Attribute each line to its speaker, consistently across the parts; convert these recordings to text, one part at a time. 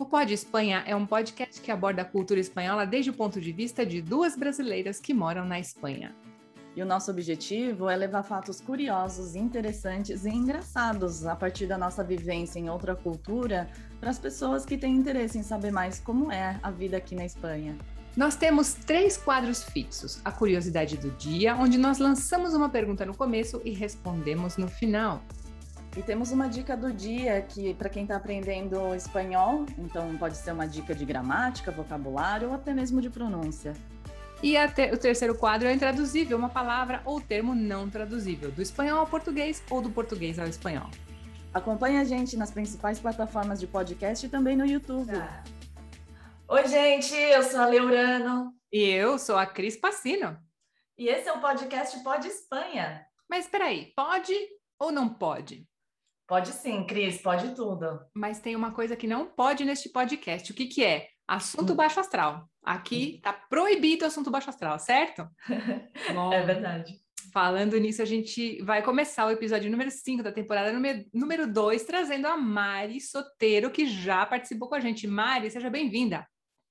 Speaker 1: O Pod Espanha é um podcast que aborda a cultura espanhola desde o ponto de vista de duas brasileiras que moram na Espanha.
Speaker 2: E o nosso objetivo é levar fatos curiosos, interessantes e engraçados a partir da nossa vivência em outra cultura para as pessoas que têm interesse em saber mais como é a vida aqui na Espanha.
Speaker 1: Nós temos 3 quadros fixos: a curiosidade do dia, onde nós lançamos uma pergunta no começo e respondemos no final.
Speaker 2: E temos uma dica do dia que, para quem está aprendendo espanhol, então pode ser uma dica de gramática, vocabulário ou até mesmo de pronúncia.
Speaker 1: E o terceiro quadro é o intraduzível, uma palavra ou termo não traduzível, do espanhol ao português ou do português ao espanhol.
Speaker 2: Acompanhe a gente nas principais plataformas de podcast e também no YouTube.
Speaker 3: Oi, gente, eu sou a Leurano.
Speaker 1: E eu sou a Cris Passino.
Speaker 3: E esse é o podcast Pod Espanha.
Speaker 1: Mas espera aí, pode ou não pode?
Speaker 3: Pode sim, Cris, pode tudo.
Speaker 1: Mas tem uma coisa que não pode neste podcast. O que que é? Assunto baixo astral. Aqui tá proibido o assunto baixo astral, certo? Bom,
Speaker 3: é verdade.
Speaker 1: Falando nisso, a gente vai começar o episódio número 5 da temporada número 2, trazendo a Mari Soteiro, que já participou com a gente. Mari, seja bem-vinda.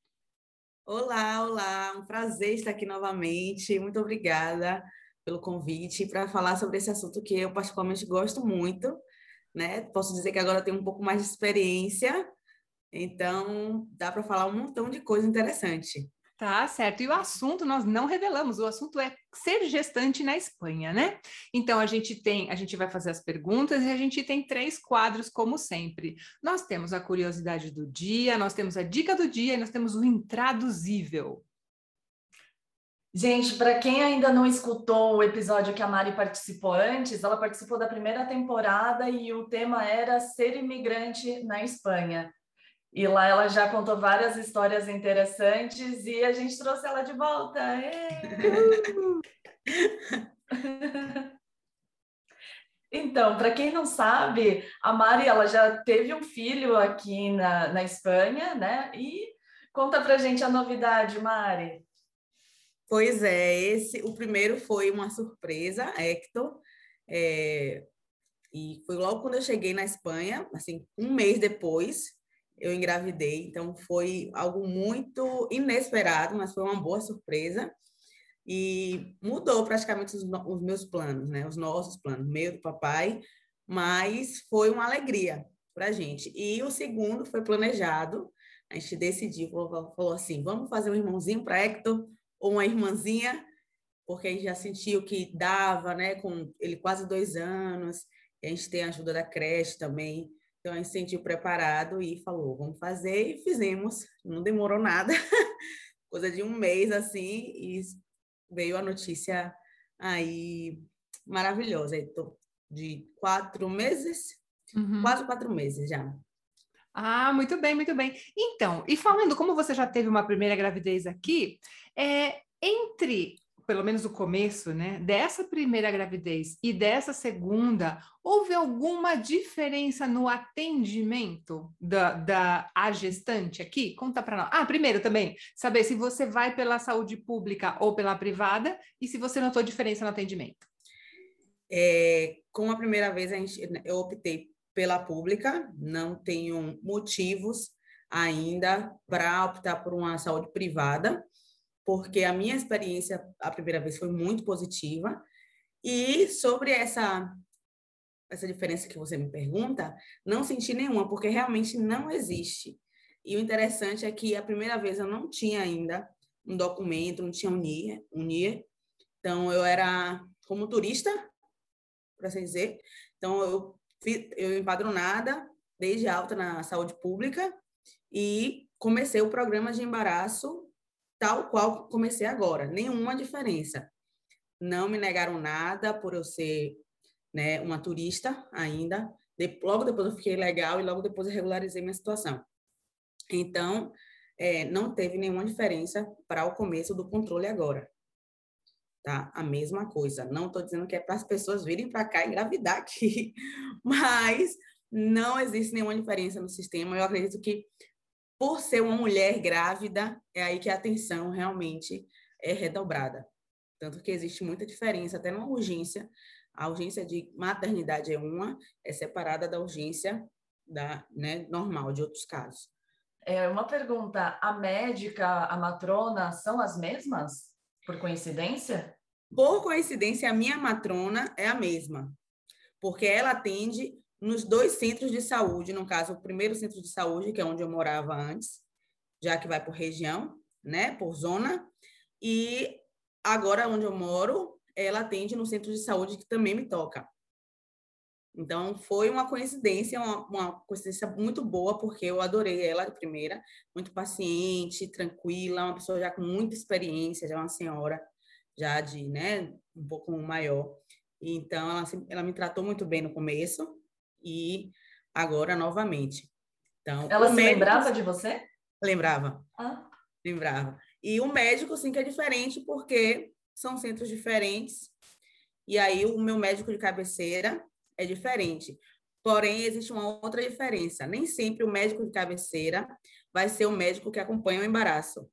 Speaker 4: Olá, um prazer estar aqui novamente. Muito obrigada pelo convite para falar sobre esse assunto que eu particularmente gosto muito, né? Posso dizer que agora eu tenho um pouco mais de experiência, então dá para falar um montão de coisa interessante.
Speaker 1: Tá certo. E o assunto nós não revelamos, o assunto é ser gestante na Espanha, né? Então a gente vai fazer as perguntas e a gente tem 3 quadros, como sempre. Nós temos a curiosidade do dia, nós temos a dica do dia e nós temos o intraduzível.
Speaker 3: Gente, para quem ainda não escutou o episódio que a Mari participou antes, ela participou da primeira temporada e o tema era ser imigrante na Espanha. E lá ela já contou várias histórias interessantes e a gente trouxe ela de volta. Então, para quem não sabe, a Mari ela já teve um filho aqui na Espanha, né? E conta pra gente a novidade, Mari.
Speaker 4: Pois é, o primeiro foi uma surpresa, Hector, e foi logo quando eu cheguei na Espanha, assim, um mês depois, eu engravidei, então foi algo muito inesperado, mas foi uma boa surpresa e mudou praticamente os meus planos, né? Os nossos planos, meio do papai, mas foi uma alegria para a gente. E o segundo foi planejado, a gente decidiu, falou assim, vamos fazer um irmãozinho para Hector ou uma irmãzinha, porque a gente já sentiu que dava, né? Com ele quase 2 anos, a gente tem a ajuda da creche também. Então, a gente se sentiu preparado e falou, vamos fazer, e fizemos. Não demorou nada, coisa de um mês, assim, e veio a notícia aí maravilhosa. Estou de 4 meses, quase 4 meses já.
Speaker 1: Ah, muito bem, muito bem. Então, e falando, como você já teve uma primeira gravidez aqui, entre, pelo menos o começo, né, dessa primeira gravidez e dessa segunda, houve alguma diferença no atendimento da gestante aqui? Conta para nós. Ah, primeiro também, saber se você vai pela saúde pública ou pela privada e se você notou diferença no atendimento.
Speaker 4: Com a primeira vez, eu optei pela pública, não tenho motivos ainda para optar por uma saúde privada, porque a minha experiência a primeira vez foi muito positiva. E sobre essa diferença que você me pergunta, não senti nenhuma, porque realmente não existe. E o interessante é que a primeira vez eu não tinha ainda um documento, não tinha um NIE. Então, eu era como turista, por assim dizer. Então, eu empadronada, desde alta na saúde pública, e comecei o programa de embaraço tal qual comecei agora, nenhuma diferença. Não me negaram nada por eu ser, né, uma turista ainda. Logo depois eu fiquei legal e logo depois eu regularizei minha situação. Então, não teve nenhuma diferença para o começo do controle agora. Tá? A mesma coisa. Não estou dizendo que é para as pessoas virem para cá e engravidar aqui, mas não existe nenhuma diferença no sistema. Eu acredito que por ser uma mulher grávida, é aí que a atenção realmente é redobrada. Tanto que existe muita diferença, até na urgência. A urgência de maternidade é separada da urgência normal, de outros casos.
Speaker 3: Uma pergunta, a médica, a matrona, são as mesmas? Por coincidência?
Speaker 4: Por coincidência, a minha matrona é a mesma, porque ela atende nos 2 centros de saúde, no caso, o primeiro centro de saúde, que é onde eu morava antes, já que vai por região, né, por zona, e agora onde eu moro, ela atende no centro de saúde que também me toca. Então, foi uma coincidência muito boa, porque eu adorei ela de primeira, muito paciente, tranquila, uma pessoa já com muita experiência, já uma senhora, já de, né, um pouco maior. Então, ela me tratou muito bem no começo e agora novamente. Então,
Speaker 3: Ela
Speaker 4: o
Speaker 3: se
Speaker 4: médico
Speaker 3: lembrava de você?
Speaker 4: lembrava,
Speaker 3: Ah,
Speaker 4: lembrava. E o médico, sim, que é diferente, porque são centros diferentes, e aí o meu médico de cabeceira é diferente. Porém, existe uma outra diferença. Nem sempre o médico de cabeceira vai ser o médico que acompanha o embaraço.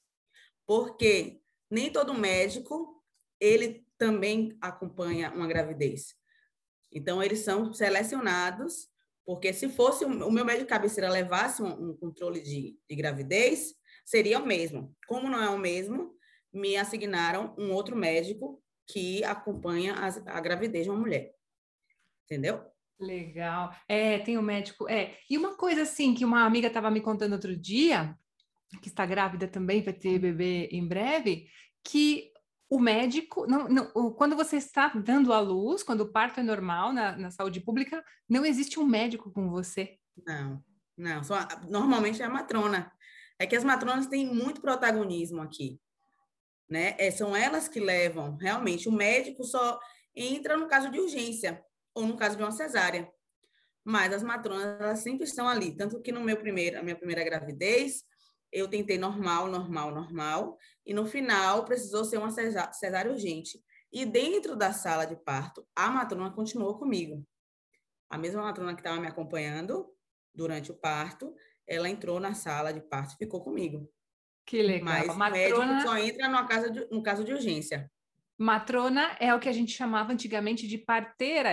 Speaker 4: Porque nem todo médico, ele também acompanha uma gravidez. Então, eles são selecionados, porque se fosse o meu médico de cabeceira levasse um controle de gravidez, seria o mesmo. Como não é o mesmo, me assignaram um outro médico que acompanha a gravidez de uma mulher. Entendeu?
Speaker 1: Legal. Tem o médico. E uma coisa assim que uma amiga estava me contando outro dia, que está grávida também, vai ter bebê em breve, que o médico, quando você está dando à luz, quando o parto é normal na saúde pública, não existe um médico com você.
Speaker 4: Não, não. Normalmente é a matrona. É que as matronas têm muito protagonismo aqui, né? São elas que levam, realmente. O médico só entra no caso de urgência ou no caso de uma cesárea. Mas as matronas, elas sempre estão ali. Tanto que a minha primeira gravidez, eu tentei normal, normal, normal. E no final, precisou ser uma cesárea urgente. E dentro da sala de parto, a matrona continuou comigo. A mesma matrona que estava me acompanhando durante o parto, ela entrou na sala de parto e ficou comigo.
Speaker 1: Que legal.
Speaker 4: Mas o médico
Speaker 1: Matrona,
Speaker 4: só entra no caso de urgência.
Speaker 1: matrona é o que a gente chamava antigamente de parteira,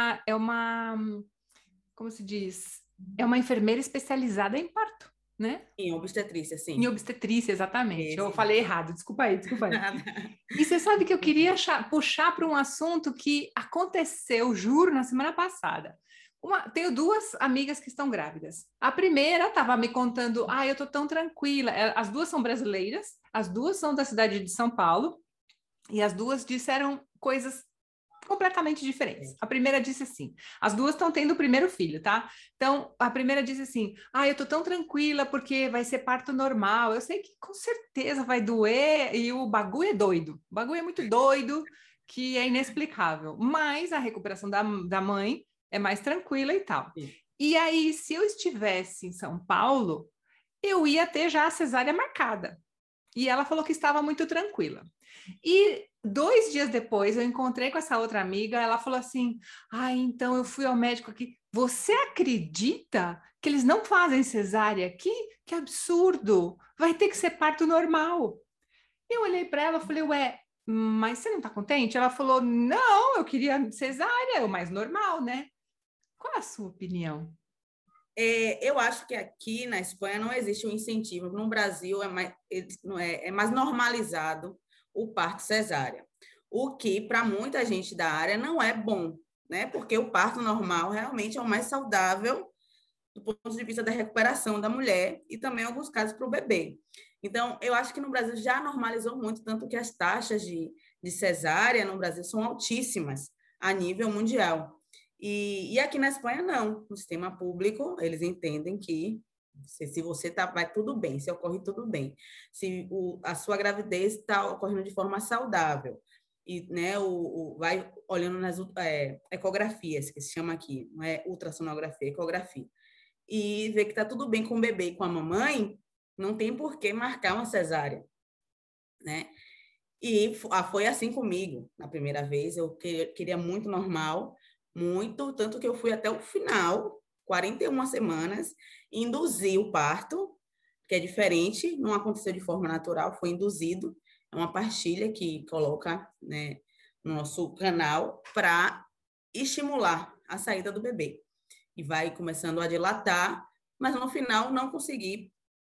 Speaker 1: como se diz? É uma enfermeira especializada em parto, né?
Speaker 4: Em obstetrícia,
Speaker 1: Em
Speaker 4: sim.
Speaker 1: obstetrícia, exatamente. Eu
Speaker 4: Esse.
Speaker 1: falei errado, desculpa aí, desculpa aí.
Speaker 4: Nada.
Speaker 1: E você sabe que eu queria puxar para um assunto que aconteceu, juro, na semana passada. Tenho duas amigas que estão grávidas. A primeira estava me contando, eu tô tão tranquila. As duas são brasileiras, as duas são da cidade de São Paulo, e as duas disseram coisas completamente diferentes. A primeira disse assim: as duas estão tendo o primeiro filho, tá? Então, a primeira disse assim: eu tô tão tranquila porque vai ser parto normal. Eu sei que com certeza vai doer e o bagulho é doido. O bagulho é muito doido, que é inexplicável. Mas a recuperação da mãe é mais tranquila e tal.
Speaker 4: Sim.
Speaker 1: E aí, se eu estivesse em São Paulo, eu ia ter já a cesárea marcada. E ela falou que estava muito tranquila. E 2 dias depois eu encontrei com essa outra amiga, ela falou assim: então eu fui ao médico aqui. Você acredita que eles não fazem cesárea aqui? Que absurdo! Vai ter que ser parto normal. Eu olhei para ela e falei: ué, mas você não está contente? Ela falou: não, eu queria cesárea, é o mais normal, né? Qual é a sua opinião?
Speaker 4: Eu acho que aqui na Espanha não existe um incentivo. No Brasil é mais normalizado o parto cesárea, o que para muita gente da área não é bom, né? Porque o parto normal realmente é o mais saudável do ponto de vista da recuperação da mulher e também, em alguns casos, para o bebê. Então, eu acho que no Brasil já normalizou muito, tanto que as taxas de cesárea no Brasil são altíssimas a nível mundial. E aqui na Espanha, não. No sistema público, eles entendem que se você vai tudo bem, se ocorre tudo bem. Se a sua gravidez está ocorrendo de forma saudável, e né, vai olhando nas ecografias, que se chama aqui, não é ultrassonografia, ecografia, e ver que está tudo bem com o bebê e com a mamãe, não tem por que marcar uma cesárea, né? E foi assim comigo. Na primeira vez, eu queria muito normal, muito, tanto que eu fui até o final, 41 semanas, induzi o parto, que é diferente, não aconteceu de forma natural, foi induzido. É uma pastilha que coloca, né, no nosso canal para estimular a saída do bebê. E vai começando a dilatar, mas no final não consegui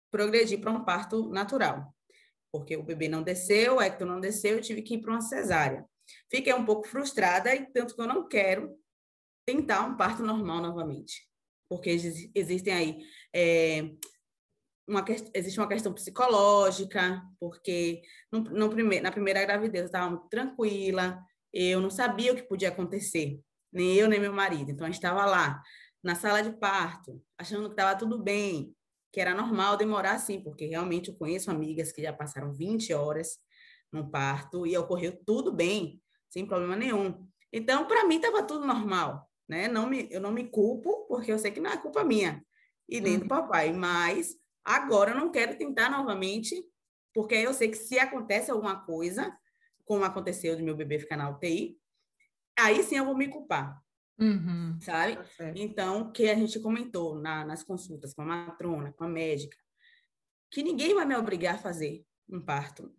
Speaker 4: progredir para um parto natural, porque o bebê não desceu, o Hector não desceu, eu tive que ir para uma cesárea. Fiquei um pouco frustrada, e tanto que eu não quero tentar um parto normal novamente, porque existem aí existe uma questão psicológica, porque na primeira gravidez eu estava muito tranquila, eu não sabia o que podia acontecer, nem eu, nem meu marido. Então, a gente estava lá, na sala de parto, achando que estava tudo bem, que era normal demorar assim, porque realmente eu conheço amigas que já passaram 20 horas no parto e ocorreu tudo bem, sem problema nenhum. Então, para mim, estava tudo normal, né? Eu não me culpo, porque eu sei que não é culpa minha e nem do papai, mas agora eu não quero tentar novamente, porque eu sei que se acontece alguma coisa, como aconteceu de meu bebê ficar na UTI, aí sim eu vou me culpar, sabe?
Speaker 1: Tá.
Speaker 4: Então, que a gente comentou nas consultas com a matrona, com a médica, que ninguém vai me obrigar a fazer um parto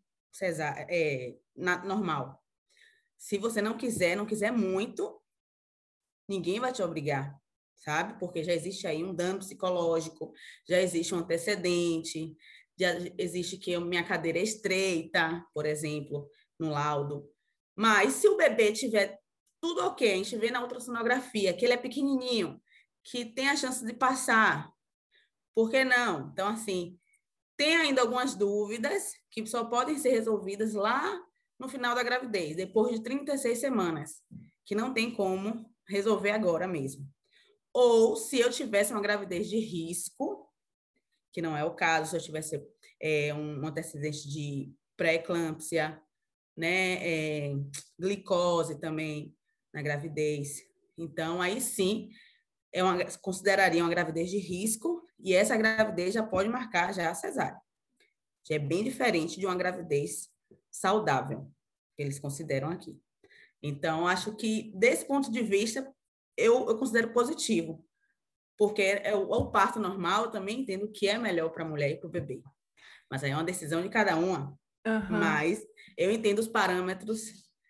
Speaker 4: normal. Se você não quiser muito, ninguém vai te obrigar, sabe? Porque já existe aí um dano psicológico, já existe um antecedente, já existe que minha cadeira é estreita, por exemplo, no laudo. Mas se o bebê tiver tudo ok, a gente vê na ultrassonografia que ele é pequenininho, que tem a chance de passar, por que não? Então, assim, tem ainda algumas dúvidas que só podem ser resolvidas lá no final da gravidez, depois de 36 semanas, que não tem como resolver agora mesmo. Ou se eu tivesse uma gravidez de risco, que não é o caso, se eu tivesse um antecedente de pré-eclâmpsia, né, glicose também na gravidez. Então, aí sim, consideraria uma gravidez de risco e essa gravidez já pode marcar já a cesárea. Já é bem diferente de uma gravidez saudável, que eles consideram aqui. Então, acho que, desse ponto de vista, eu considero positivo, porque o parto normal, eu também entendo que é melhor para a mulher e para o bebê. Mas aí é uma decisão de cada uma. Mas eu entendo os parâmetros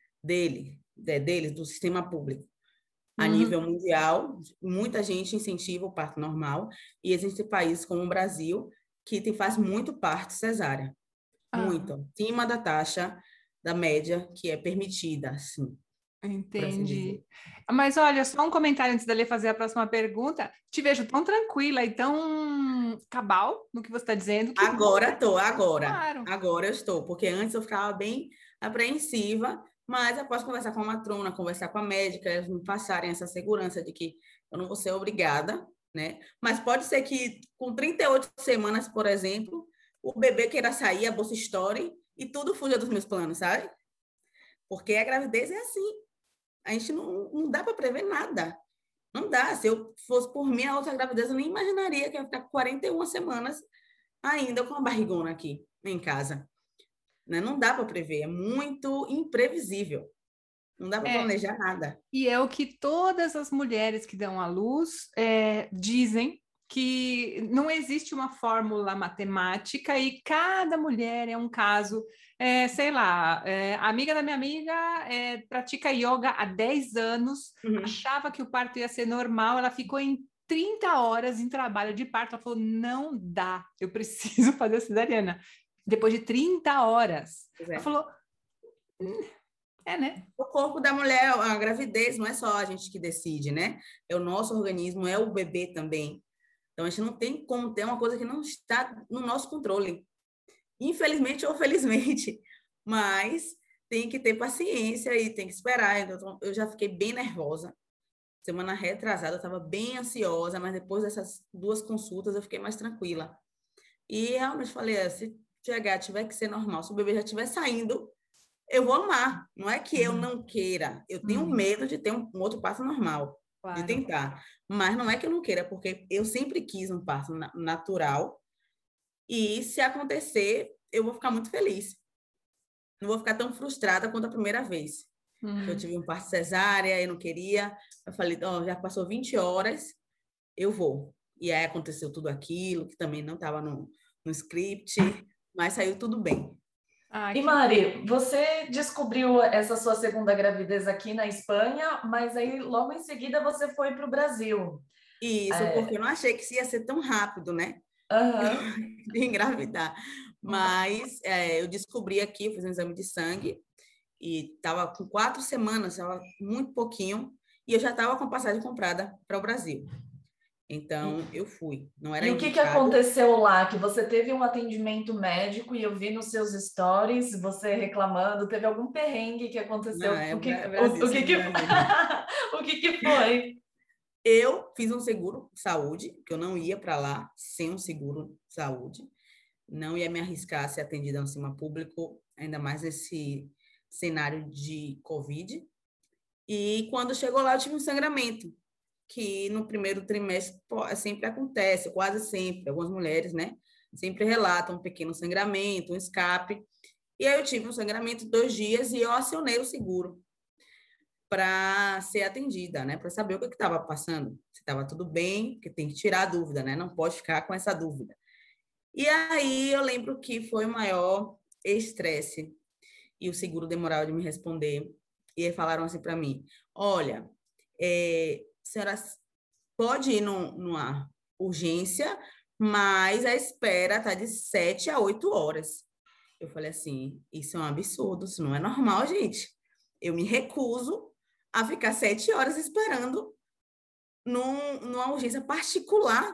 Speaker 4: deles, do sistema público. A nível mundial, muita gente incentiva o parto normal, e existem países como o Brasil que faz muito parto cesárea. Muito. Acima da taxa da média que é permitida, assim.
Speaker 1: Entendi. Mas olha, só um comentário antes da Lê fazer a próxima pergunta. Te vejo tão tranquila e tão cabal no que você está dizendo. Que
Speaker 4: agora
Speaker 1: claro.
Speaker 4: Agora eu estou, porque antes eu ficava bem apreensiva, mas após conversar com a matrona, conversar com a médica, eles me passarem essa segurança de que eu não vou ser obrigada, né? Mas pode ser que com 38 semanas, por exemplo, o bebê queira sair, a bolsa estoure e tudo fuja dos meus planos, sabe? Porque a gravidez é assim. A gente não dá para prever nada. Não dá. Se eu fosse por mim, a outra gravidez, eu nem imaginaria que ia ficar 41 semanas ainda com a barrigona aqui em casa. Né? Não dá para prever. É muito imprevisível. Não dá para planejar nada.
Speaker 1: E é o que todas as mulheres que dão à luz dizem, que não existe uma fórmula matemática e cada mulher é um caso. Sei lá, a amiga da minha amiga pratica yoga há 10 anos, achava que o parto ia ser normal, ela ficou em 30 horas em trabalho de parto, ela falou, não dá, eu preciso fazer a cesariana. Depois de 30 horas. Ela falou, né?
Speaker 4: O corpo da mulher, a gravidez, não é só a gente que decide, né? É o nosso organismo, é o bebê também. Então, a gente não tem como ter uma coisa que não está no nosso controle. Infelizmente ou felizmente. Mas tem que ter paciência e tem que esperar. Então, eu já fiquei bem nervosa. Semana retrasada, eu estava bem ansiosa, mas depois dessas 2 consultas, eu fiquei mais tranquila. E realmente falei, se tiver que ser normal, se o bebê já estiver saindo, eu vou amar. Não é que eu não queira. Eu tenho medo de ter um outro parto normal, de tentar. Mas não é que eu não queira, porque eu sempre quis um parto natural. E se acontecer, eu vou ficar muito feliz. Não vou ficar tão frustrada quanto a primeira vez. Eu tive um parto cesárea, eu não queria. Eu falei, já passou 20 horas, eu vou. E aí aconteceu tudo aquilo, que também não estava no script, mas saiu tudo bem.
Speaker 3: E Mari, você descobriu essa sua segunda gravidez aqui na Espanha, mas aí logo em seguida você foi para o Brasil.
Speaker 4: Isso, porque eu não achei que ia ser tão rápido, né? de engravidar. Mas eu descobri aqui, eu fiz um exame de sangue e estava com 4 semanas, estava muito pouquinho, e eu já estava com a passagem comprada para o Brasil. Então, eu fui. Não era
Speaker 3: E o que
Speaker 4: indicado.
Speaker 3: aconteceu lá? Que você teve um atendimento médico e eu vi nos seus stories você reclamando. Teve algum perrengue que aconteceu?
Speaker 4: Não,
Speaker 3: O que,
Speaker 4: Brasil,
Speaker 3: o que, que... o que foi?
Speaker 4: Eu fiz um seguro saúde, que eu não ia para lá sem um seguro saúde. Não ia me arriscar a ser atendida no sistema público, ainda mais nesse cenário de Covid. E quando chegou lá, eu tive um sangramento, que no primeiro trimestre sempre acontece, quase sempre. Algumas mulheres, né, sempre relatam um pequeno sangramento, um escape. E aí eu tive um sangramento 2 dias e eu acionei o seguro para ser atendida, né, para saber o que estava passando, se estava tudo bem, porque tem que tirar a dúvida, né, não pode ficar com essa dúvida. E aí eu lembro que foi o maior estresse e o seguro demorava de me responder. E aí falaram assim para mim, olha, senhora pode ir numa urgência, mas a espera está de 7 a 8 horas. Eu falei assim, isso é um absurdo, isso não é normal, gente. Eu me recuso a ficar 7 horas esperando numa urgência particular.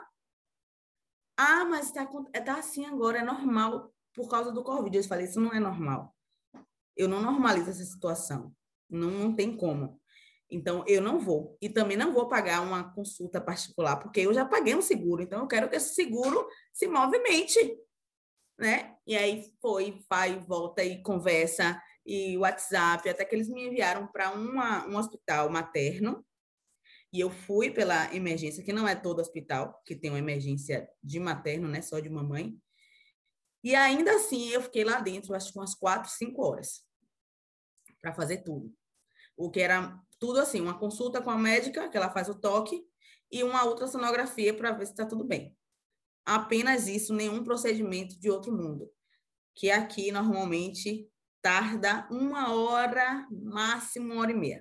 Speaker 4: Ah, mas tá assim agora, é normal por causa do Covid. Eu falei, isso não é normal. Eu não normalizo essa situação. Não tem como. Então, eu não vou. E também não vou pagar uma consulta particular, porque eu já paguei um seguro. Então, eu quero que esse seguro se movimente, né? E aí vai, volta e conversa, e WhatsApp, até que eles me enviaram para um hospital materno. E eu fui pela emergência, que não é todo hospital que tem uma emergência de materno, né? Só de mamãe. E ainda assim, eu fiquei lá dentro, acho que umas 4, 5 horas para fazer tudo. O que era tudo assim, uma consulta com a médica, que ela faz o toque, e uma ultrassonografia para ver se está tudo bem. Apenas isso, nenhum procedimento de outro mundo. Que aqui, normalmente, tarda 1 hora, máximo 1h30.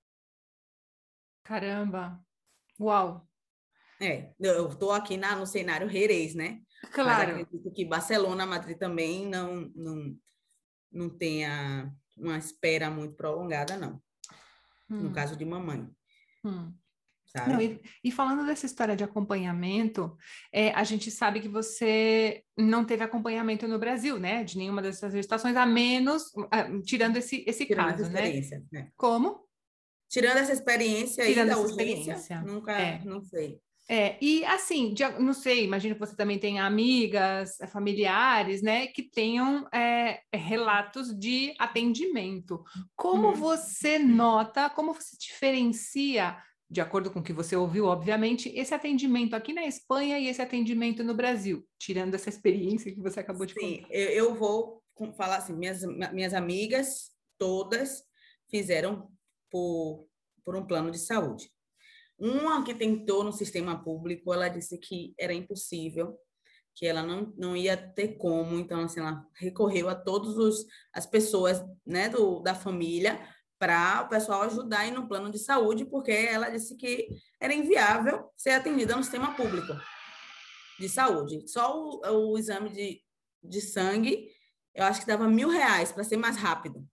Speaker 1: Caramba! Uau!
Speaker 4: Eu estou aqui no cenário Jerez, né? Mas
Speaker 1: Claro.
Speaker 4: acredito que Barcelona, Madrid também não tenha uma espera muito prolongada, não. No caso de mamãe,
Speaker 1: Não,
Speaker 4: sabe?
Speaker 1: e falando dessa história de acompanhamento, a gente sabe que você não teve acompanhamento no Brasil, né? De nenhuma dessas gestações, a menos, tirando esse
Speaker 4: Tirando
Speaker 1: caso,
Speaker 4: essa
Speaker 1: né?
Speaker 4: experiência, né?
Speaker 1: Como?
Speaker 4: Tirando essa experiência aí
Speaker 1: Tirando
Speaker 4: da
Speaker 1: essa
Speaker 4: urgência,
Speaker 1: experiência.
Speaker 4: nunca, não sei.
Speaker 1: E assim, não sei, imagino que você também tenha amigas, familiares, né, que tenham relatos de atendimento. Como você nota, como você diferencia, de acordo com o que você ouviu, obviamente, esse atendimento aqui na Espanha e esse atendimento no Brasil, tirando essa experiência que você acabou de
Speaker 4: Sim,
Speaker 1: contar?
Speaker 4: eu vou falar assim, minhas amigas todas fizeram por um plano de saúde. Uma que tentou no sistema público, ela disse que era impossível, que ela não ia ter como, então assim, ela recorreu a todas as pessoas, né, da família para o pessoal ajudar aí no plano de saúde, porque ela disse que era inviável ser atendida no sistema público de saúde. Só o exame de sangue, eu acho que dava R$1.000 para ser mais rápido,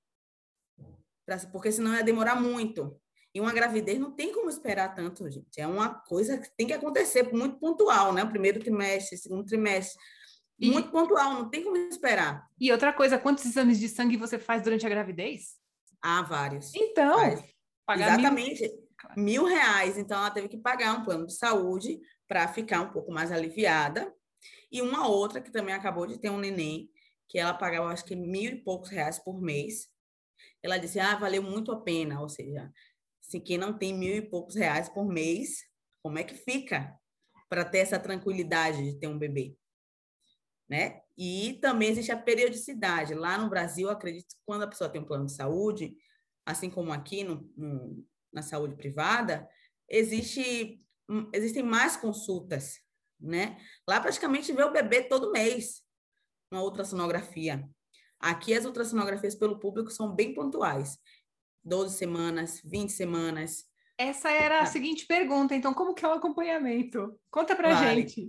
Speaker 4: porque senão ia demorar muito. E uma gravidez não tem como esperar tanto, gente. É uma coisa que tem que acontecer muito pontual, né? O primeiro trimestre, o segundo trimestre, muito pontual, não tem como esperar.
Speaker 1: E outra coisa, quantos exames de sangue você faz durante a gravidez?
Speaker 4: Há vários.
Speaker 1: Então, pagar
Speaker 4: exatamente R$1.000. Então, ela teve que pagar um plano de saúde para ficar um pouco mais aliviada. E uma outra que também acabou de ter um neném, que ela pagava, acho que R$1.000 e poucos por mês. Ela disse, valeu muito a pena. Ou seja, se quem não tem R$1.000 e poucos por mês, como é que fica para ter essa tranquilidade de ter um bebê? Né? E também existe a periodicidade. Lá no Brasil, acredito que quando a pessoa tem um plano de saúde, assim como aqui na saúde privada, existem mais consultas, né? Lá praticamente vê o bebê todo mês, uma ultrassonografia. Aqui as ultrassonografias pelo público são bem pontuais. 12 semanas, 20 semanas.
Speaker 1: Essa era a seguinte pergunta, então, como que é o acompanhamento? Conta pra
Speaker 4: Vale.
Speaker 1: gente.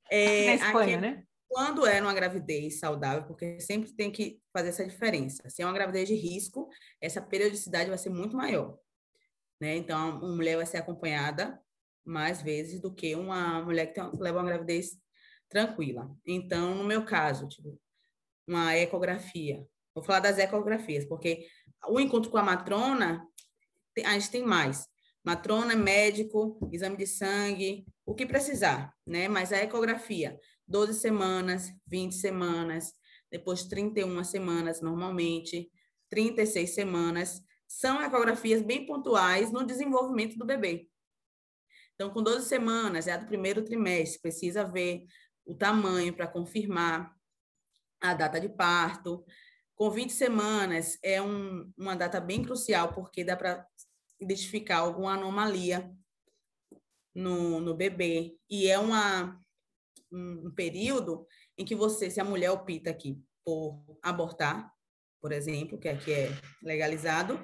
Speaker 1: Na Espanha, né?
Speaker 4: Quando é uma gravidez saudável, porque sempre tem que fazer essa diferença. Se é uma gravidez de risco, essa periodicidade vai ser muito maior, né? Então, uma mulher vai ser acompanhada mais vezes do que uma mulher que leva uma gravidez tranquila. Então, no meu caso, tipo, uma ecografia. Vou falar das ecografias, porque o encontro com a matrona, a gente tem mais. Matrona, médico, exame de sangue, o que precisar, né? Mas a ecografia, 12 semanas, 20 semanas, depois 31 semanas, normalmente, 36 semanas, são ecografias bem pontuais no desenvolvimento do bebê. Então, com 12 semanas, é a do primeiro trimestre, precisa ver o tamanho para confirmar a data de parto. Com 20 semanas, é uma data bem crucial, porque dá para identificar alguma anomalia no bebê. E é um período em que você, se a mulher opta aqui por abortar, por exemplo, que aqui é legalizado,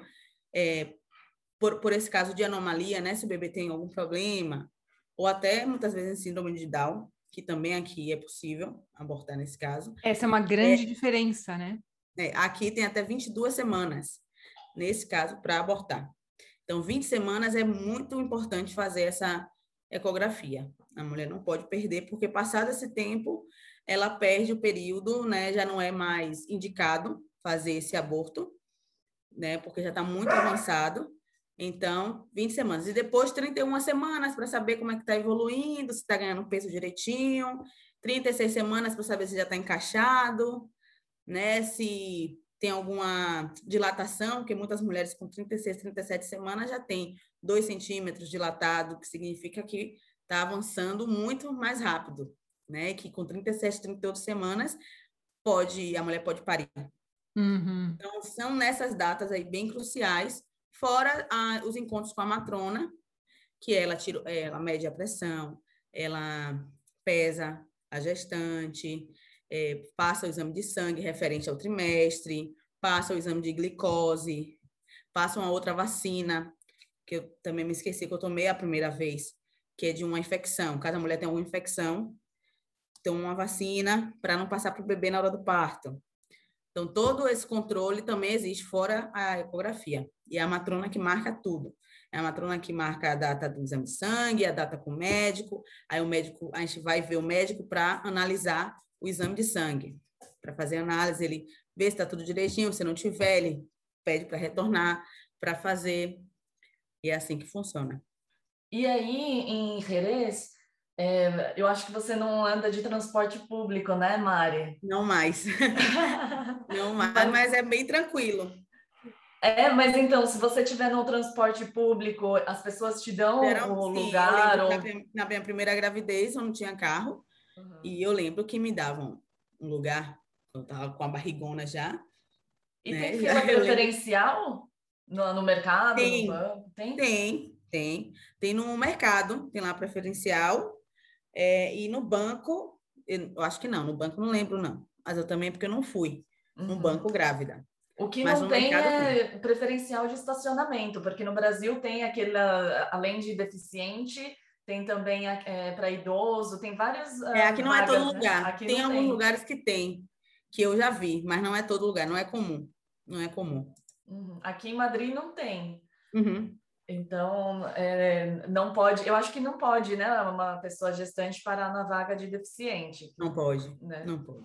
Speaker 4: por esse caso de anomalia, né? Se o bebê tem algum problema, ou até muitas vezes síndrome de Down, que também aqui é possível abortar nesse caso.
Speaker 1: Essa é uma grande diferença, né?
Speaker 4: Aqui tem até 22 semanas, nesse caso, para abortar. Então, 20 semanas é muito importante fazer essa ecografia. A mulher não pode perder, porque passado esse tempo, ela perde o período, né? Já não é mais indicado fazer esse aborto, né? Porque já está muito avançado. Então, 20 semanas. E depois, 31 semanas para saber como é que está evoluindo, se está ganhando peso direitinho. 36 semanas para saber se já está encaixado, né? Se tem alguma dilatação, porque muitas mulheres com 36, 37 semanas já têm 2 centímetros dilatado, que significa que está avançando muito mais rápido, né? Que com 37, 38 semanas a mulher pode parir.
Speaker 1: Uhum.
Speaker 4: Então, são nessas datas aí bem cruciais, fora os encontros com a matrona, que ela mede a pressão, ela pesa a gestante, passa o exame de sangue referente ao trimestre, passa o exame de glicose, passa uma outra vacina, que eu também me esqueci, que eu tomei a primeira vez, que é de uma infecção. Cada mulher tem alguma infecção, então uma vacina para não passar para o bebê na hora do parto. Então, todo esse controle também existe fora a ecografia. E é a matrona que marca tudo. É a matrona que marca a data do exame de sangue, a data com o médico. Aí a gente vai ver o médico para analisar o exame de sangue. Para fazer a análise, ele vê se está tudo direitinho. Se não tiver, ele pede para retornar, para fazer. E é assim que funciona.
Speaker 3: E aí, em Jerez, eu acho que você não anda de transporte público, né, Mari?
Speaker 4: Não mais. Não mais, mas é bem tranquilo.
Speaker 3: Mas então, se você estiver no transporte público, as pessoas te dão o lugar?
Speaker 4: Eu lembro que na minha primeira gravidez eu não tinha carro, e eu lembro que me davam um lugar, eu estava com a barrigona já.
Speaker 3: E
Speaker 4: né?
Speaker 3: tem fila preferencial no mercado,
Speaker 4: no
Speaker 3: banco?
Speaker 4: Tem no mercado, tem lá preferencial, e no banco, eu acho que não, no banco não lembro não, mas eu também porque eu não fui no banco grávida.
Speaker 3: O que
Speaker 4: Mas
Speaker 3: não tem é preferencial de estacionamento, porque no Brasil tem aquele, além de deficiente, tem também para idoso, tem vários.
Speaker 4: Aqui não
Speaker 3: vagas,
Speaker 4: é todo
Speaker 3: né?
Speaker 4: lugar.
Speaker 3: Aqui
Speaker 4: tem alguns
Speaker 3: tem.
Speaker 4: lugares que tem, que eu já vi, mas não é todo lugar, não é comum. Não é comum.
Speaker 3: Aqui em Madrid não tem.
Speaker 4: Uhum.
Speaker 3: Então, não pode, eu acho que não pode, né? Uma pessoa gestante parar na vaga de deficiente.
Speaker 4: Não pode,
Speaker 3: né?
Speaker 4: não pode.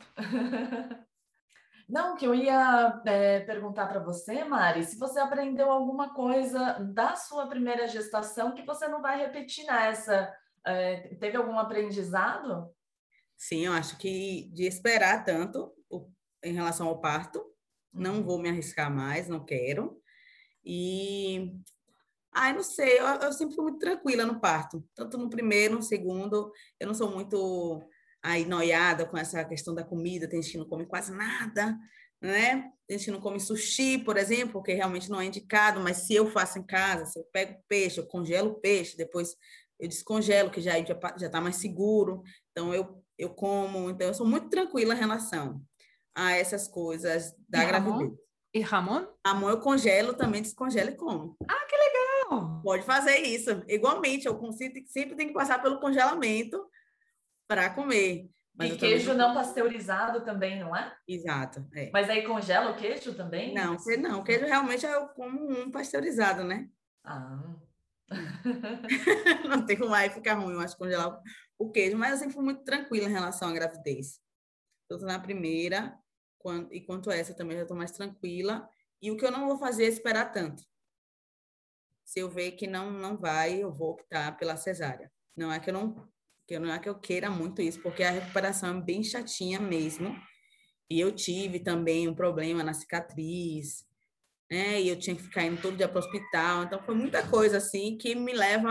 Speaker 3: Não, que eu ia perguntar para você, Mari, se você aprendeu alguma coisa da sua primeira gestação que você não vai repetir nessa. Teve algum aprendizado?
Speaker 4: Sim, eu acho que de esperar tanto em relação ao parto, não vou me arriscar mais, não quero. E, não sei, eu sempre fui muito tranquila no parto, tanto no primeiro, no segundo, eu não sou muito noiada com essa questão da comida, tem gente que não come quase nada, né? Tem gente que não come sushi, por exemplo, porque realmente não é indicado, mas se eu faço em casa, se eu pego peixe, eu congelo o peixe, depois eu descongelo, que já está mais seguro, então eu como, então eu sou muito tranquila em relação a essas coisas da gravidez.
Speaker 1: E Ramon?
Speaker 4: Ramon eu congelo, também descongelo e como.
Speaker 1: Ah, que legal!
Speaker 4: Pode fazer isso. Igualmente, eu sempre tenho que passar pelo congelamento para comer. Mas
Speaker 3: e queijo não pasteurizado também, não é?
Speaker 4: Exato, é.
Speaker 3: Mas aí congela o queijo também?
Speaker 4: Não, não, queijo realmente eu como um pasteurizado, né?
Speaker 3: Ah.
Speaker 4: Não tem como aí ficar ruim, eu acho, congelar o queijo. Mas eu sempre fui muito tranquila em relação à gravidez. Tanto na primeira, e quanto essa também já estou mais tranquila. E o que eu não vou fazer é esperar tanto. Se eu ver que não vai, eu vou optar pela cesárea. Não é que não é que eu queira muito isso, porque a recuperação é bem chatinha mesmo. E eu tive também um problema na cicatriz, né? E eu tinha que ficar indo todo dia para o hospital. Então, foi muita coisa assim que me leva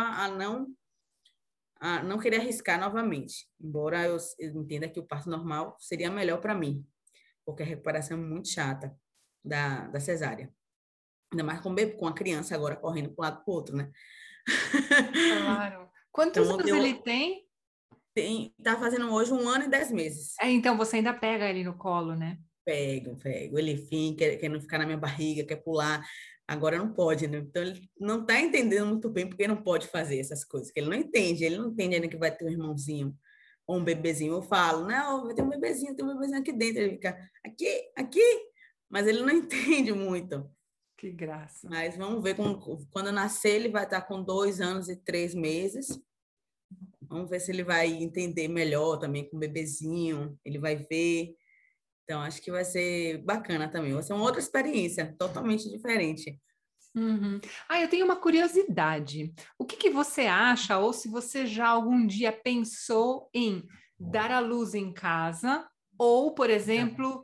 Speaker 4: a não querer arriscar novamente. Embora eu entenda que o parto normal seria melhor para mim, porque a recuperação é muito chata da cesárea. Ainda mais com a criança agora correndo para um lado para o outro, né?
Speaker 1: Claro. Quantos
Speaker 4: Então,
Speaker 1: anos ele tem?
Speaker 4: Tá fazendo hoje 1 ano e 10 meses.
Speaker 1: Então você ainda pega ele no colo, né?
Speaker 4: Pego. Ele fica, quer não ficar na minha barriga, quer pular. Agora não pode, né? Então ele não está entendendo muito bem porque não pode fazer essas coisas, que ele não entende ainda que vai ter um irmãozinho ou um bebezinho. Eu falo, não, vai ter um bebezinho, tem um bebezinho aqui dentro. Ele fica, aqui, mas ele não entende muito.
Speaker 1: Que graça.
Speaker 4: Mas vamos ver, quando nascer, ele vai estar com 2 anos e 3 meses. Vamos ver se ele vai entender melhor também com o bebezinho, ele vai ver. Então, acho que vai ser bacana também. Vai ser uma outra experiência, totalmente diferente.
Speaker 1: Uhum. Eu tenho uma curiosidade. O que que você acha, ou se você já algum dia pensou em dar à luz em casa, ou, por exemplo,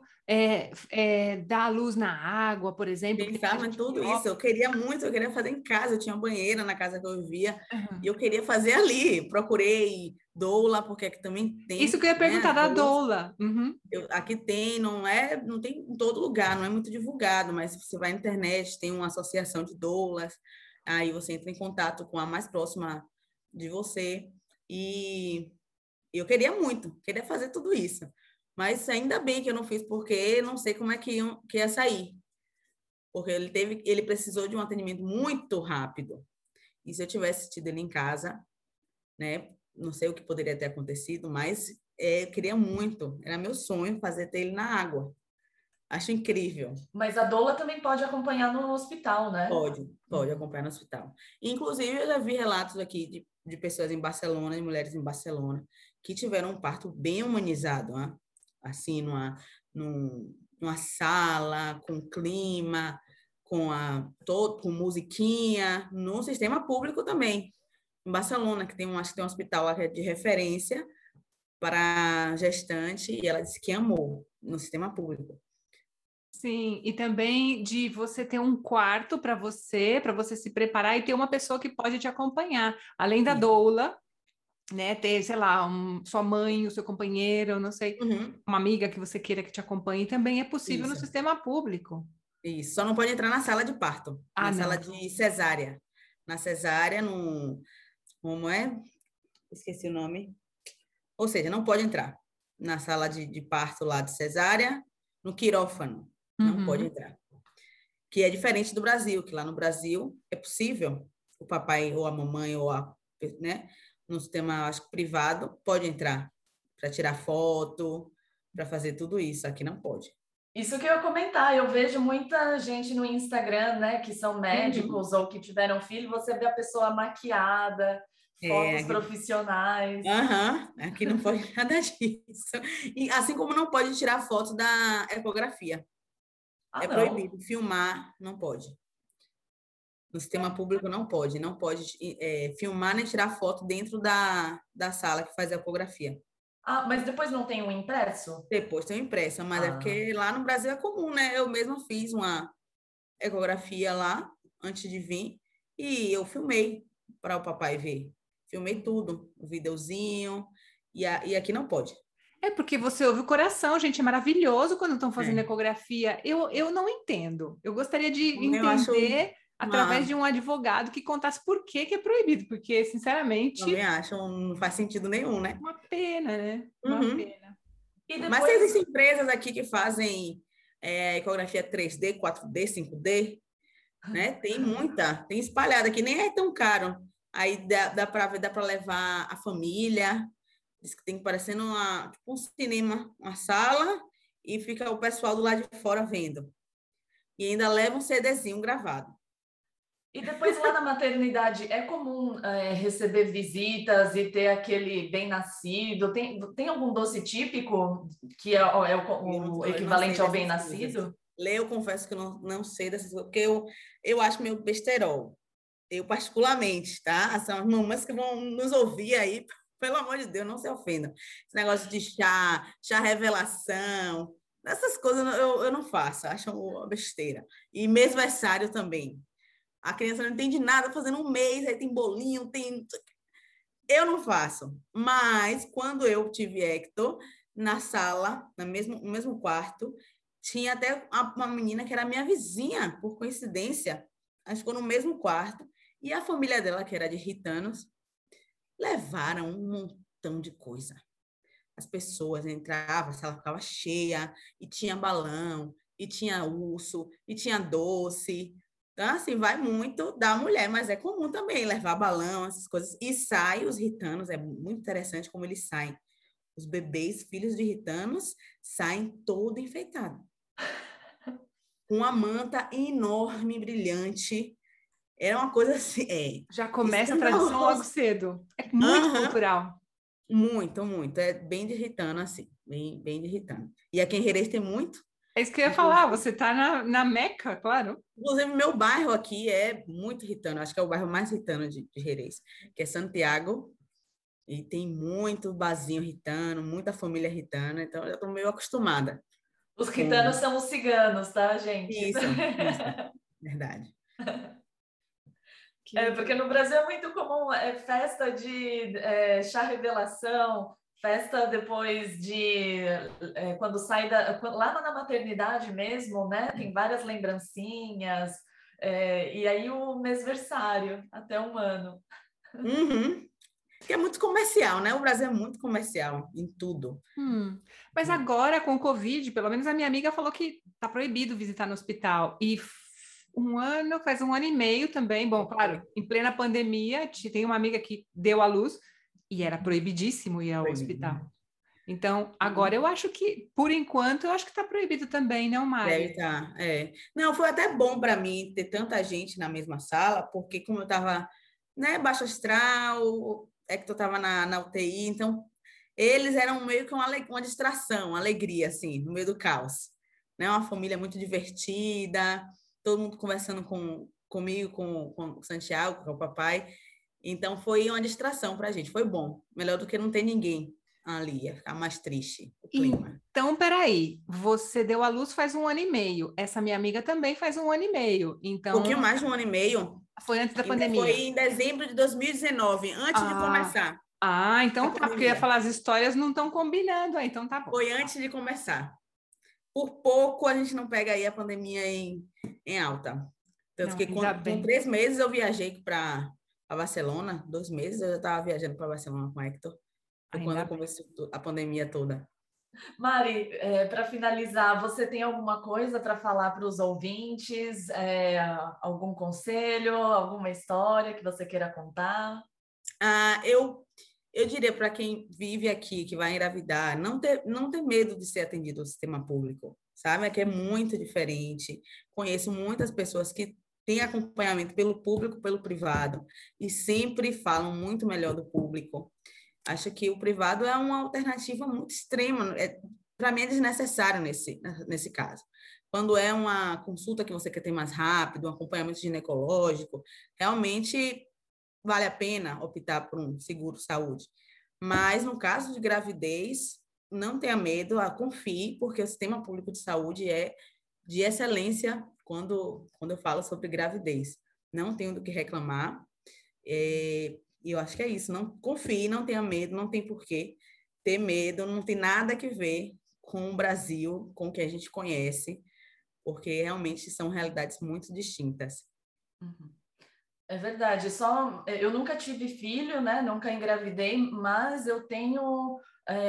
Speaker 1: dar à luz na água, por exemplo, que tem
Speaker 4: Pensava em
Speaker 1: gente que
Speaker 4: tudo isso. Eu queria muito, eu queria fazer em casa. Eu tinha banheira na casa que eu vivia e eu queria fazer ali. Procurei doula, porque aqui também
Speaker 1: Isso
Speaker 4: tem,
Speaker 1: que eu ia
Speaker 4: né,
Speaker 1: perguntar
Speaker 4: as
Speaker 1: da
Speaker 4: doulas.
Speaker 1: doula. Uhum.
Speaker 4: Aqui tem, não tem em todo lugar, não é muito divulgado, mas se você vai na internet, tem uma associação de doulas, aí você entra em contato com a mais próxima de você. E eu queria fazer tudo isso. Mas ainda bem que eu não fiz, porque não sei como é que ia sair. Porque ele precisou de um atendimento muito rápido. E se eu tivesse tido ele em casa, né? Não sei o que poderia ter acontecido, mas eu queria muito. Era meu sonho ter ele na água. Acho incrível.
Speaker 3: Mas a doula também pode acompanhar no hospital, né?
Speaker 4: Pode acompanhar no hospital. Inclusive, eu já vi relatos aqui de pessoas em Barcelona, de mulheres em Barcelona, que tiveram um parto bem humanizado, né? Assim, numa sala, com clima, com musiquinha, no sistema público também. Em Barcelona, acho que tem um hospital lá que é de referência para gestante, e ela disse que amou no sistema público.
Speaker 1: Sim, e também de você ter um quarto para você se preparar e ter uma pessoa que pode te acompanhar, além da doula, né? Ter, sei lá, sua mãe, o seu companheiro, eu não sei, uma amiga que você queira que te acompanhe, também é possível no
Speaker 4: Isso.
Speaker 1: sistema público.
Speaker 4: Isso, só não pode entrar na sala de parto, na sala
Speaker 1: Não.
Speaker 4: de cesárea. Na cesárea, como é? Esqueci o nome. Ou seja, não pode entrar na sala de parto lá de cesárea, no quirófano. Não pode entrar. Que é diferente do Brasil, que lá no Brasil é possível o papai ou a mamãe né, no sistema, acho que privado, pode entrar para tirar foto, para fazer tudo isso. Aqui não pode.
Speaker 3: Isso que eu ia comentar, eu vejo muita gente no Instagram, né, que são médicos ou que tiveram filho, você vê a pessoa maquiada, fotos profissionais.
Speaker 4: Aqui não pode nada disso. E assim como não pode tirar foto da ecografia. É proibido filmar, não pode. No sistema público não pode filmar nem tirar foto dentro da sala que faz a ecografia.
Speaker 3: Mas depois não tem um impresso?
Speaker 4: Depois tem um impresso, mas é porque lá no Brasil é comum, né? Eu mesma fiz uma ecografia lá antes de vir e eu filmei para o papai ver. Filmei tudo, o videozinho, e aqui não pode.
Speaker 1: É porque você ouve o coração, gente, é maravilhoso quando estão fazendo ecografia. Eu não entendo. Eu gostaria de entender através de um advogado que contasse por que é proibido, porque, sinceramente...
Speaker 4: Também acho, não faz sentido nenhum, né?
Speaker 1: Uma pena, né? Uma pena.
Speaker 3: E depois...
Speaker 4: Mas existem empresas aqui que fazem ecografia 3D, 4D, 5D, né? Tem muita, tem espalhada aqui, nem é tão caro. Aí dá para levar a família, Diz que tem parecendo tipo um cinema, uma sala, e fica o pessoal do lado de fora vendo. E ainda leva um CDzinho gravado.
Speaker 3: E depois lá na maternidade, é comum receber visitas e ter aquele bem-nascido? Tem algum doce típico que é o
Speaker 4: Eu não sei
Speaker 3: equivalente ao
Speaker 4: dessas coisas.
Speaker 3: bem-nascido?
Speaker 4: Eu confesso que eu não sei dessas coisas, porque eu acho meio besterol. Eu, particularmente, tá? São as mamães que vão nos ouvir aí, pelo amor de Deus, não se ofendam. Esse negócio de chá revelação, essas coisas eu não faço, acho uma besteira. E mesversário também. A criança não entende nada, fazendo um mês, aí tem bolinho, tem... Eu não faço. Mas, quando eu tive Hector, na sala, no mesmo quarto, tinha até uma menina que era minha vizinha, por coincidência. A gente ficou no mesmo quarto. E a família dela, que era de ritanos, levaram um montão de coisa. As pessoas entravam, a sala ficava cheia, e tinha balão, e tinha urso, e tinha doce. Então, assim, vai muito da mulher, mas é comum também levar balão, essas coisas. E sai os ritanos, é muito interessante como eles saem. Os bebês, filhos de ritanos, saem todo enfeitados. Com uma manta enorme, brilhante. Era uma coisa assim,
Speaker 1: Já começa a tradição logo cedo. É muito cultural.
Speaker 4: Muito, muito. É bem de ritano, assim. Bem de ritano. E aqui em Jerez tem muito.
Speaker 1: É isso que eu ia falar, você está na Meca, claro.
Speaker 4: Inclusive, meu bairro aqui é muito ritano. Acho que é o bairro mais ritano de Jerez, que é Santiago. E tem muito barzinho ritano, muita família ritana. Então, eu estou meio acostumada.
Speaker 3: Os ritanos são os ciganos, tá, gente?
Speaker 4: Isso. Verdade.
Speaker 3: Porque no Brasil é muito comum festa de chá revelação, festa depois de quando sai lá na maternidade mesmo, né? Tem várias lembrancinhas, e aí o mêsversário, até 1 ano.
Speaker 4: Uhum. Que é muito comercial, né? O Brasil é muito comercial em tudo.
Speaker 1: Mas agora, com o Covid, pelo menos a minha amiga falou que está proibido visitar no hospital. E faz 1 ano e meio também. Bom, claro, em plena pandemia, tem uma amiga que deu à luz e era proibidíssimo ir ao hospital. Então, agora eu acho que, por enquanto, eu acho que está proibido também, não, Mari?
Speaker 4: Deve estar, Não, foi até bom para mim ter tanta gente na mesma sala, porque como eu estava, né, baixo astral, que eu estava na UTI, então eles eram meio que uma distração, uma alegria, assim, no meio do caos. Né? Uma família muito divertida, todo mundo conversando comigo, com o Santiago, com o papai. Então, foi uma distração para a gente, foi bom. Melhor do que não ter ninguém ali, ia ficar mais triste o clima.
Speaker 1: Então, peraí, você deu à luz faz 1 ano e meio, essa minha amiga também faz 1 ano e meio, então...
Speaker 4: Um pouquinho mais de 1 ano e meio.
Speaker 1: Foi antes da pandemia?
Speaker 4: Foi em dezembro de 2019, antes de começar.
Speaker 1: Então tá, porque eu ia falar, as histórias não estão combinando, então tá bom.
Speaker 4: Foi antes de começar. Por pouco a gente não pega aí a pandemia em alta. Tanto que com 3 meses eu viajei para Barcelona, 2 meses eu já estava viajando para Barcelona com o Hector. Foi quando começou a pandemia toda.
Speaker 3: Mari, para finalizar, você tem alguma coisa para falar para os ouvintes? Algum conselho, alguma história que você queira contar?
Speaker 4: Eu diria para quem vive aqui, que vai engravidar, não ter medo de ser atendido no sistema público, sabe? Aqui é muito diferente. Conheço muitas pessoas que têm acompanhamento pelo público, pelo privado, e sempre falam muito melhor do público. Acho que o privado é uma alternativa muito extrema. Para mim é desnecessário nesse caso. Quando é uma consulta que você quer ter mais rápido, um acompanhamento ginecológico, realmente vale a pena optar por um seguro-saúde. Mas no caso de gravidez, não tenha medo, confie, porque o sistema público de saúde é de excelência quando eu falo sobre gravidez. Não tenho do que reclamar. E eu acho que é isso. Não confie, não tenha medo, não tem porquê ter medo, não tem nada que ver com o Brasil, com o que a gente conhece, porque realmente são realidades muito distintas.
Speaker 3: Uhum. É verdade. Eu nunca tive filho, né? Nunca engravidei, mas eu tenho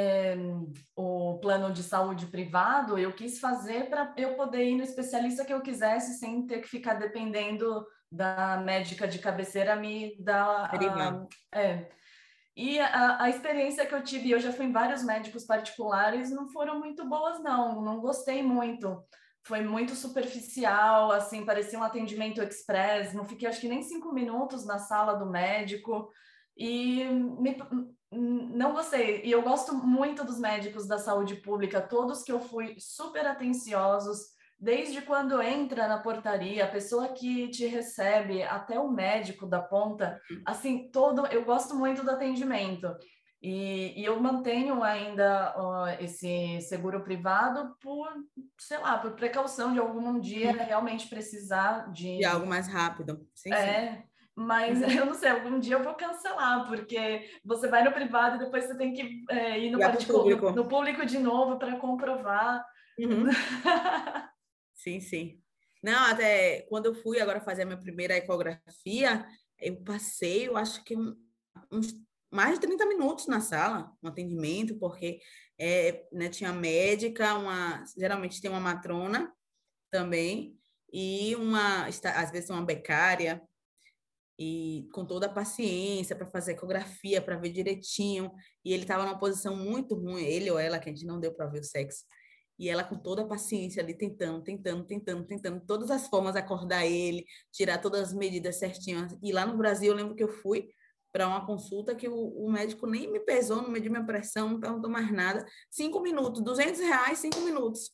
Speaker 3: o plano de saúde privado. Eu quis fazer para eu poder ir no especialista que eu quisesse, sem ter que ficar dependendo da médica de cabeceira me dar. E a experiência que eu tive, eu já fui em vários médicos particulares, não foram muito boas, não gostei muito. Foi muito superficial, assim, parecia um atendimento express, não fiquei acho que nem 5 minutos na sala do médico, e não gostei. E eu gosto muito dos médicos da saúde pública, todos que eu fui super atenciosos, desde quando entra na portaria, a pessoa que te recebe, até o médico da ponta, assim, eu gosto muito do atendimento. E eu mantenho ainda esse seguro privado sei lá, por precaução de algum dia realmente precisar
Speaker 4: de algo mais rápido. Sim, sim.
Speaker 3: Mas eu não sei, algum dia eu vou cancelar, porque você vai no privado e depois você tem que ir no público de novo para comprovar.
Speaker 4: Uhum. Sim, sim. Não, até quando eu fui agora fazer a minha primeira ecografia, eu passei, eu acho que uns mais de 30 minutos na sala, no atendimento, porque né, tinha médica, geralmente tem uma matrona também, e às vezes uma becária, e com toda a paciência para fazer ecografia, para ver direitinho, e ele estava numa posição muito ruim, ele ou ela, que a gente não deu para ver o sexo, e ela com toda a paciência ali, tentando, todas as formas, acordar ele, tirar todas as medidas certinhas. E lá no Brasil, eu lembro que eu fui para uma consulta que o médico nem me pesou, não mediu minha pressão, não perguntou mais nada. 5 minutos, R$200, 5 minutos.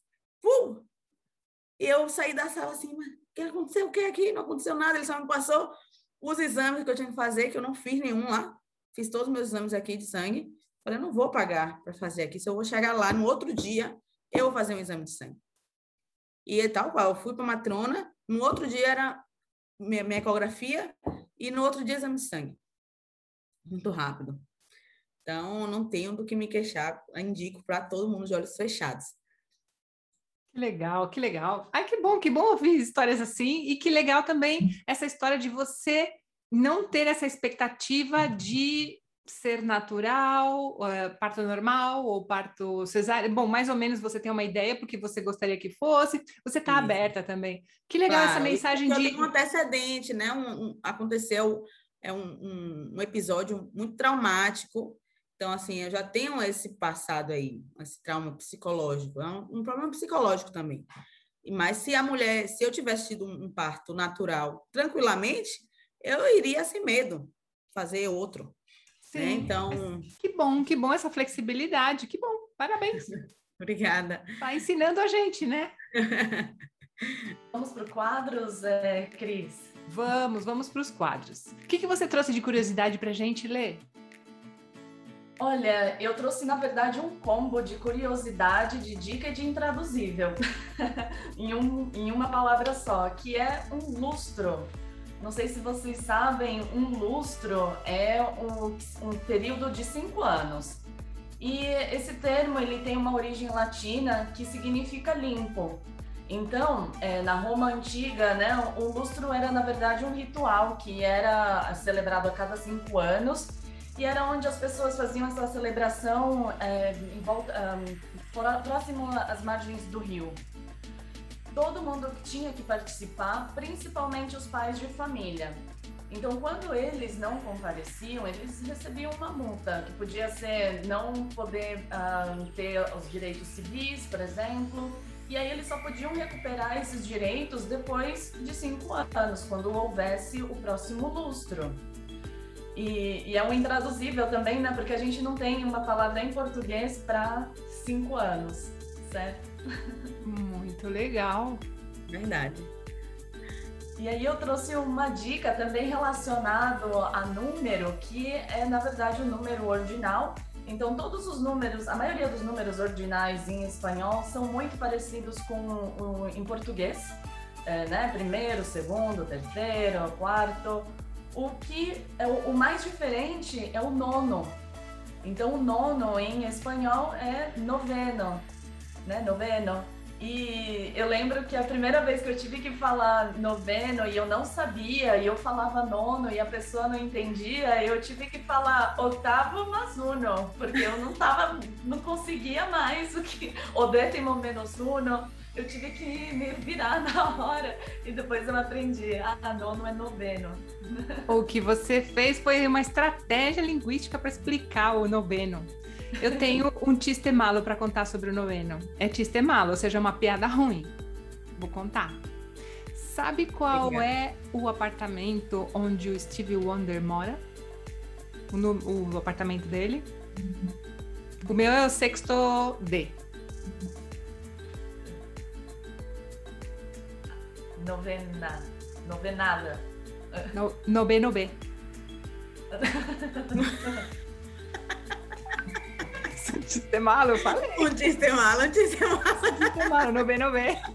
Speaker 4: E eu saí da sala assim, mas o que aconteceu? O que aqui? Não aconteceu nada, ele só me passou os exames que eu tinha que fazer, que eu não fiz nenhum lá. Fiz todos os meus exames aqui de sangue. Falei, eu não vou pagar para fazer aqui. Se eu vou chegar lá no outro dia, eu vou fazer um exame de sangue. E tal qual, eu fui para a matrona, no outro dia era minha ecografia e no outro dia exame de sangue. Muito rápido. Então, não tenho do que me queixar, indico para todo mundo de olhos fechados.
Speaker 1: Que legal, que legal. Ai, que bom ouvir histórias assim, e que legal também essa história de você não ter essa expectativa de ser natural, parto normal ou parto cesáreo. Bom, mais ou menos você tem uma ideia porque você gostaria que fosse, você está aberta também. Que legal essa mensagem de...
Speaker 4: Tem um antecedente, né? Aconteceu um episódio muito traumático. Então, assim, eu já tenho esse passado aí, esse trauma psicológico. É um problema psicológico também. Mas se eu tivesse tido um parto natural tranquilamente, eu iria sem medo fazer outro.
Speaker 1: Sim.
Speaker 4: Né? Então...
Speaker 1: Que bom essa flexibilidade. Que bom, parabéns.
Speaker 4: Obrigada.
Speaker 1: Está ensinando a gente, né?
Speaker 3: Vamos para os quadros, Cris?
Speaker 1: Vamos para os quadros. O que você trouxe de curiosidade para a gente ler?
Speaker 3: Olha, eu trouxe, na verdade, um combo de curiosidade, de dica e de intraduzível, em uma palavra só, que é um lustro. Não sei se vocês sabem, um lustro é um período de 5 anos. E esse termo ele tem uma origem latina que significa limpo. Então, na Roma Antiga, né, o lustro era, na verdade, um ritual que era celebrado a cada 5 anos, e era onde as pessoas faziam essa celebração próximo às margens do rio. Todo mundo tinha que participar, principalmente os pais de família. Então, quando eles não compareciam, eles recebiam uma multa, que podia ser não poder ter os direitos civis, por exemplo, e aí eles só podiam recuperar esses direitos depois de 5 anos, quando houvesse o próximo lustro. E é um intraduzível também, né? Porque a gente não tem uma palavra em português para 5 anos, certo?
Speaker 1: Muito legal.
Speaker 4: Verdade.
Speaker 3: E aí eu trouxe uma dica também relacionada a número, que é, na verdade, o número ordinal. Então, todos os números, a maioria dos números ordinais em espanhol são muito parecidos com em português, né? Primeiro, segundo, terceiro, quarto. O que é o mais diferente é o nono. Então, o nono em espanhol é noveno, né? Noveno. E eu lembro que a primeira vez que eu tive que falar noveno e eu não sabia, e eu falava nono e a pessoa não entendia, eu tive que falar ottavo más uno, porque eu não conseguia mais o décimo menos uno. Eu tive que me virar na hora e depois eu aprendi. Nono é noveno.
Speaker 1: O que você fez foi uma estratégia linguística para explicar o noveno. Eu tenho um chiste malo para contar sobre o noveno. É chiste malo, ou seja, uma piada ruim. Vou contar. Sabe qual é o apartamento onde o Stevie Wonder mora? O apartamento dele? O meu é o sexto D.
Speaker 3: Novenada.
Speaker 1: No B. Um chiste malo, eu falei.
Speaker 4: Um chiste malo.
Speaker 1: Chiste malo, no B.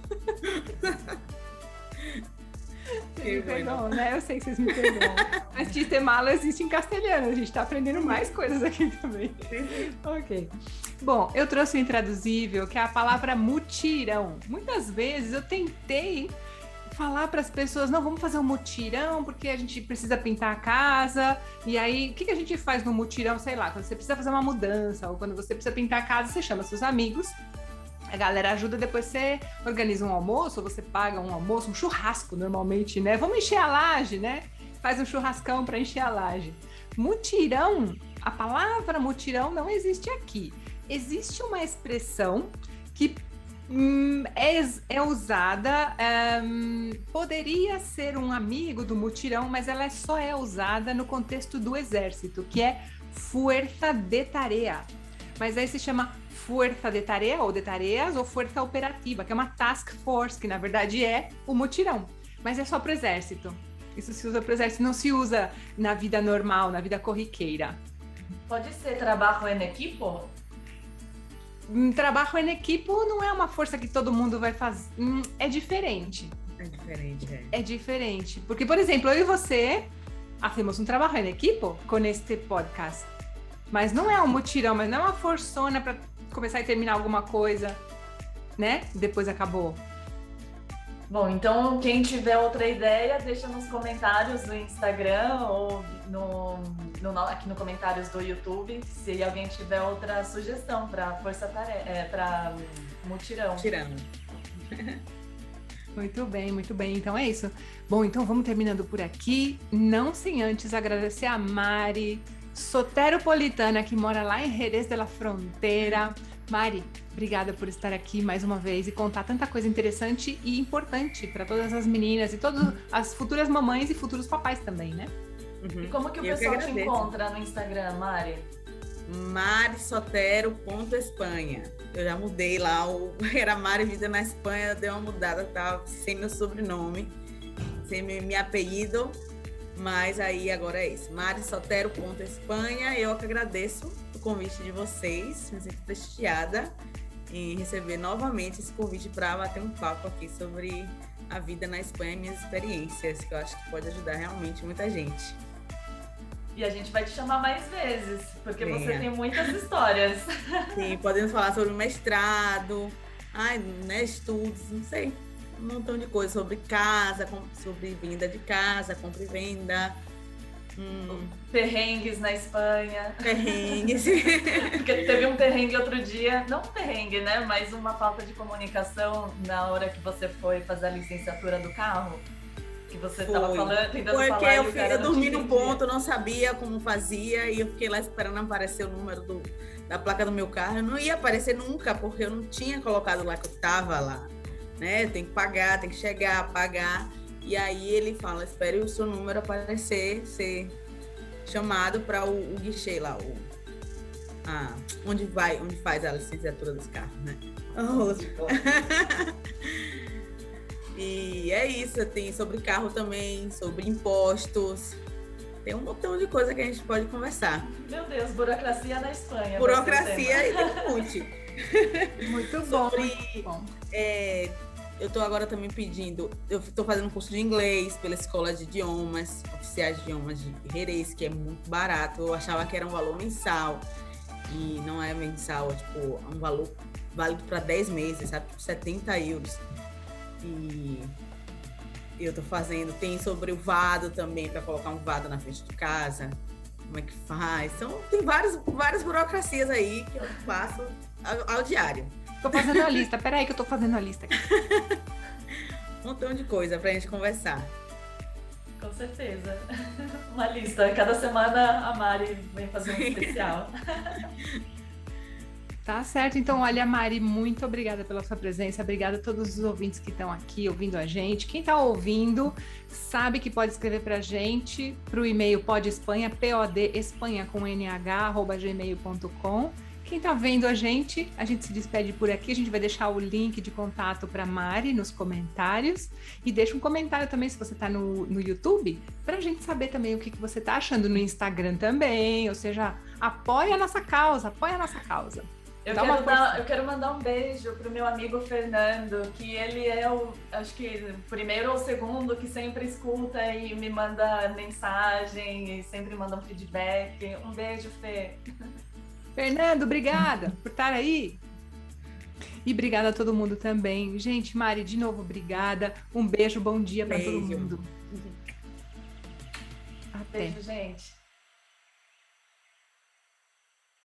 Speaker 1: Vocês me perdoam, né? Eu sei que vocês me perdoam. Mas chiste malo existe em castelhano. A gente tá aprendendo mais coisas aqui também. Ok. Bom, eu trouxe o intraduzível, que é a palavra mutirão. Muitas vezes eu tentei falar para as pessoas, não, vamos fazer um mutirão, porque a gente precisa pintar a casa, e aí, o que a gente faz no mutirão? Sei lá, quando você precisa fazer uma mudança, ou quando você precisa pintar a casa, você chama seus amigos, a galera ajuda, depois você organiza um almoço, ou você paga um almoço, um churrasco, normalmente, né? Vamos encher a laje, né? Faz um churrascão para encher a laje. Mutirão, a palavra mutirão não existe aqui. Existe uma expressão que é usada, poderia ser um amigo do mutirão, mas ela só é usada no contexto do exército, que é fuerza de tarea. Mas aí se chama fuerza de tarea, ou de tareas, ou fuerza operativa, que é uma task force, que na verdade é o mutirão. Mas é só para o exército. Isso se usa para o exército, não se usa na vida normal, na vida corriqueira.
Speaker 3: Pode ser trabalho em equipo?
Speaker 1: Trabalho em equipo não é uma força que todo mundo vai fazer. É diferente. É diferente. Porque, por exemplo, eu e você hacemos um trabalho em equipo com este podcast. Mas não é um mutirão, mas não é uma forçona para começar e terminar alguma coisa, né? Depois acabou.
Speaker 3: Bom, então quem tiver outra ideia, deixa nos comentários do Instagram ou aqui no comentários do YouTube, se alguém tiver outra sugestão para para mutirão.
Speaker 1: Muito bem. Então é isso. Bom, então vamos terminando por aqui. Não sem antes agradecer a Mari soteropolitana, que mora lá em Jerez de la Frontera. Mari, obrigada por estar aqui mais uma vez e contar tanta coisa interessante e importante para todas as meninas e todas as futuras mamães e futuros papais também, né?
Speaker 3: Uhum. E como que o pessoal te encontra no Instagram, Mari?
Speaker 4: marisotero.espanha. Eu já mudei lá, era Mari Vida na Espanha, deu uma mudada, tá sem meu sobrenome, sem meu apelido, mas aí agora é isso, marisotero.espanha. Eu que agradeço o convite de vocês, me sinto prestigiada em receber novamente esse convite para bater um papo aqui sobre a vida na Espanha e minhas experiências, que eu acho que pode ajudar realmente muita gente.
Speaker 3: E a gente vai te chamar mais vezes, porque você tem muitas histórias.
Speaker 4: Sim, podemos falar sobre o mestrado, estudos, não sei, um montão de coisas sobre casa, sobre venda de casa, compra e venda.
Speaker 3: Perrengues na Espanha.
Speaker 4: Perrengues.
Speaker 3: Porque teve um perrengue outro dia, não um perrengue, né? Mas uma falta de comunicação na hora que você foi fazer a licenciatura do carro. Que você estava tentando falar.
Speaker 4: Porque eu dormi no ponto, não sabia como fazia, e eu fiquei lá esperando aparecer o número da placa do meu carro. Eu não ia aparecer nunca, porque eu não tinha colocado lá que eu estava lá. Né? Tem que pagar, tem que chegar, pagar. E aí ele fala, espere o seu número aparecer, ser chamado para o guichê lá, onde faz a licenciatura dos carros, né? E é isso, tem sobre carro também, sobre impostos, tem um montão de coisa que a gente pode conversar.
Speaker 3: Meu Deus, burocracia na Espanha.
Speaker 4: Burocracia e muito.
Speaker 1: Muito bom.
Speaker 4: Muito bom. Eu estou agora também pedindo, eu estou fazendo um curso de inglês pela Escola de Idiomas, Oficiais de Idiomas de Jerez, que é muito barato. Eu achava que era um valor mensal, e não é mensal, é tipo um valor válido para 10 meses, sabe? Tipo 70 euros. E eu estou fazendo, tem sobre o vado também, para colocar um vado na frente de casa, como é que faz. Então, tem várias burocracias aí que eu faço ao diário.
Speaker 1: Tô fazendo a lista. Peraí que eu tô fazendo a lista aqui.
Speaker 4: Um montão de coisa pra gente conversar.
Speaker 3: Com certeza. Uma lista. Cada semana a Mari vem fazer um especial.
Speaker 1: Tá certo. Então, olha, Mari, muito obrigada pela sua presença. Obrigada a todos os ouvintes que estão aqui ouvindo a gente. Quem está ouvindo sabe que pode escrever para a gente para o e-mail podespanha, podespanha com @gmail.com. Quem está vendo a gente se despede por aqui. A gente vai deixar o link de contato para Mari nos comentários. E deixa um comentário também, se você está no YouTube, para a gente saber também o que você está achando no Instagram também. Ou seja, apoia a nossa causa, Eu
Speaker 3: quero mandar um beijo pro meu amigo Fernando, que ele é acho que o primeiro ou o segundo que sempre escuta e me manda mensagem e sempre manda um feedback. Um beijo, Fê.
Speaker 1: Fernando, obrigada por estar aí. E obrigada a todo mundo também. Gente, Mari, de novo, obrigada. Um beijo, bom dia para todo mundo.
Speaker 3: Até. Beijo, gente.